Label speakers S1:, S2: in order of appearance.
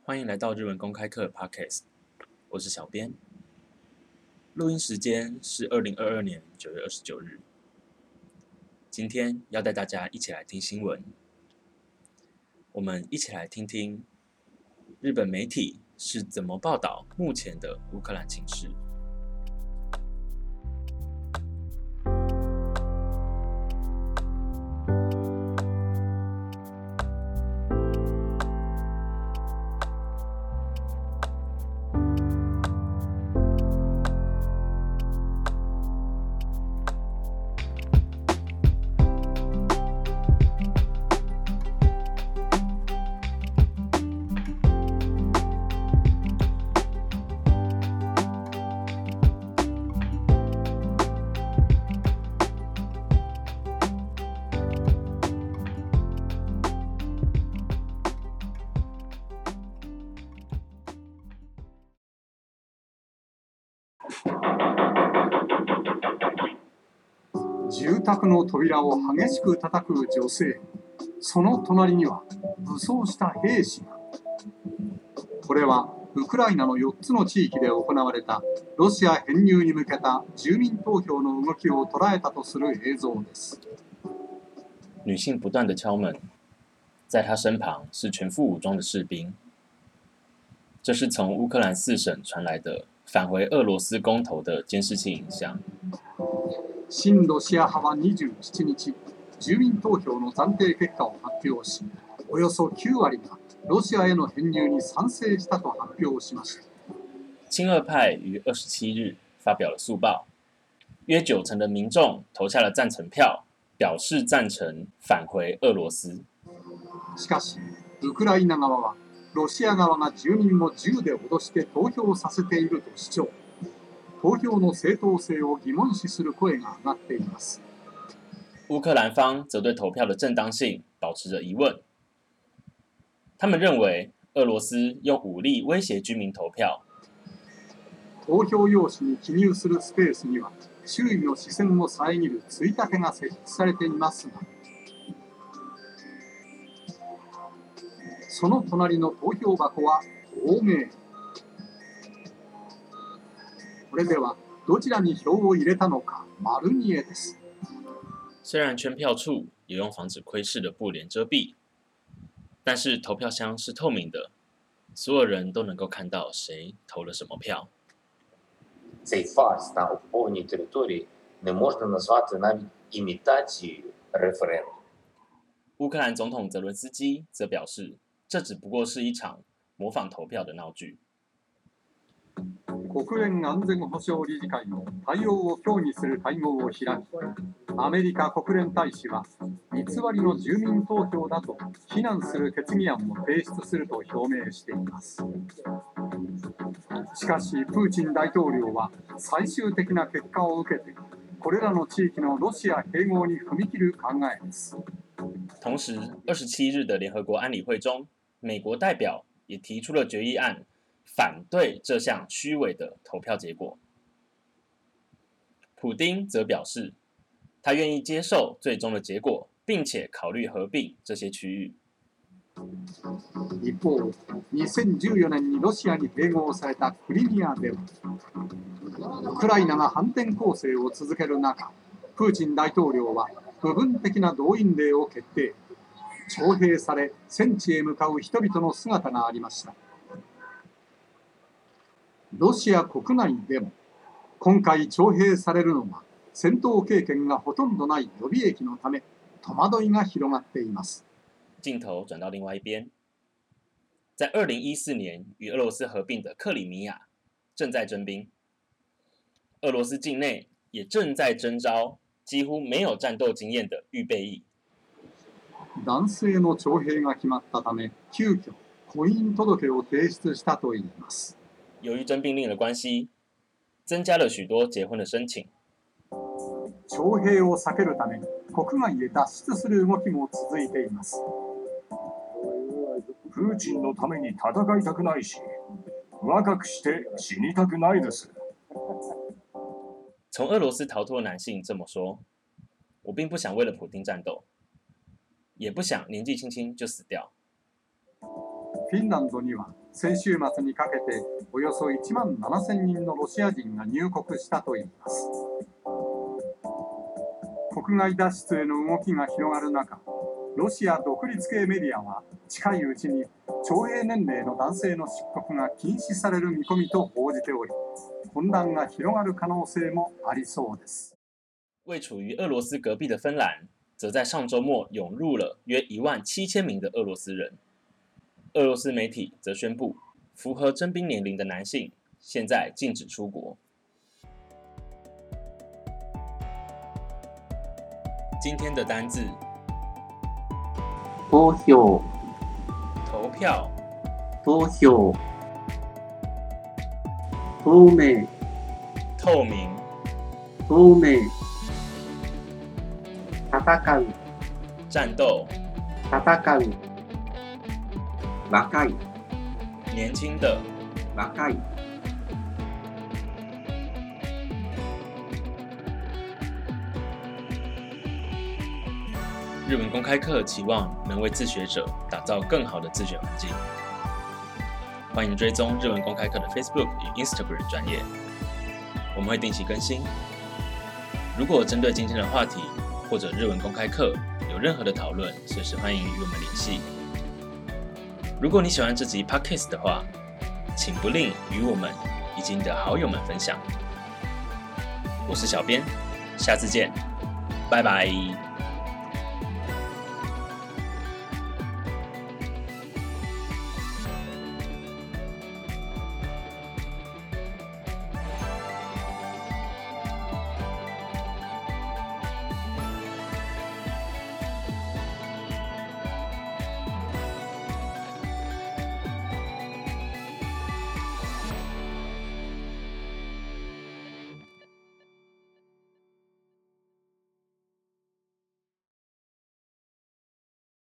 S1: 欢迎来到日文公开课 Podcast， 我是小编。录音时间是2022年9月29日。今天要带大家一起来听新闻，我们一起来听听日本媒体是怎么报道目前的乌克兰情势。
S2: 住宅の扉を激しく叩く女性、その隣には武装した兵士が。これはウクライナの4つの地域で行われたロシア編入に向けた住民投票の動きを捉えたとする映像です。
S1: 女性不断地敲门，在她身旁是全副武装的士兵。这是从乌克兰4省传来的返回俄罗斯公投的监視器影像。
S2: 親ロシア派は27日、住民投票の暫定結果を発表し、およそ9割がロシアへの編入に賛成したと発表しました。
S1: 亲俄派于27日发表了速报，约90%的民众投下了赞成票，表示赞成返回俄羅斯。
S2: しかし、ウクライナ側はロシア側が住民を銃で脅して投票させていると主張。投票の正当性を疑問視する声が上がっています。
S1: 乌克兰方则对投票的正当性保持着疑问。他们认为俄羅斯用武力威胁居民投票。
S2: 投票用紙に記入するスペースには周囲の視線を遮るついたてが設置されていますが、その隣の投票箱は透明。これではどちらに票を入れたのか丸見えです。
S1: 虽然圈票处也用防止窥视的布帘遮蔽，但是投票箱是透明的，所有人都能够看到谁投了什么票。
S3: Цей фарс на окупованій території не можна назвати навіть імітацією референдуму.
S1: 乌克兰总统泽伦斯基则表示，这只不过是一场模仿投票的闹剧。
S2: 国連安全保障理事会の対応を協議する会合を開き、アメリカ国連大使は偽りの住民投票だと非難する決議案を提出すると表明しています。しかし、プーチン大統領は最終的な結果を受けて、これらの地域のロシア併合に踏み切る考えです。
S1: 同时，27日的联合国安理会中，美国代表也提出了决议案，反对这项虚伪的投票结果。普丁则表示，他愿意接受最终的结果，并且考虑合并这些区域。
S2: 一方、2014年にロシアに併合されたクリミアでは、ウクライナが反転攻勢を続ける中、プーチン大統領は部分的な動員令を決定。徴兵され、戦地へ向かう人々の姿がありました。ロシア国内でも、今回徴兵されるのは戦闘経験がほとんどない予備役のため、戸惑いが広がっています。
S1: 镜头转到另外一边，在2014年与俄罗斯合并的克里米亚正在征兵，俄罗斯境内也正在征召几乎没有战斗经验的预备役。
S2: 男性の徴兵が決まったため、急遽婚姻届を提出したといいます。
S1: 由于征兵令的关系，增加了许多结婚的申請。
S2: 徴兵を避けるために国外へ脱出する動きも続いています。
S4: プーチンのために戦いたくないし、若くして死にたくないです。
S1: 从俄罗斯逃脱的男性这么说：“我并不想为了普丁战斗，也不想年纪轻轻就死掉。”
S2: フィンランドには先週末にかけておよそ1万7000人のロシア人が入国したといいます。国外脱出への動きが広がる中、ロシア独立系メディアは近いうちに徴兵年齢の男性の出国が禁止される見込みと報じており、混乱が広がる可能性もありそうです。
S1: 位处于俄罗斯隔壁的芬兰，则在上周末涌入了约17000名的俄罗斯人。俄罗斯媒体则宣布，符合征兵年龄的男性现在禁止出国。今天的单字：
S5: 投票、
S1: 投票、
S5: 投票、透明、
S1: 透明、
S5: 透明、戦う、
S1: 战斗、
S5: 戦う、若い、
S1: 年轻的、
S5: 若い。
S1: 日文公开课期望能为自学者打造更好的自学环境。欢迎追踪日文公开课的 Facebook 与 Instagram 专页，我们会定期更新。如果针对今天的话题或者日文公开课有任何的讨论，随时欢迎与我们联系。如果你喜欢这集 Podcast 的话，请不吝与我们以及你的好友们分享。我是小编，下次见，拜拜。